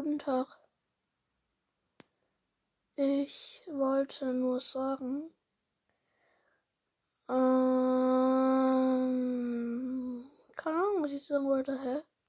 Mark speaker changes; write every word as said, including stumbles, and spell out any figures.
Speaker 1: guten Tag. Ich wollte nur sagen, ähm, keine Ahnung, was ich sagen wollte, hä?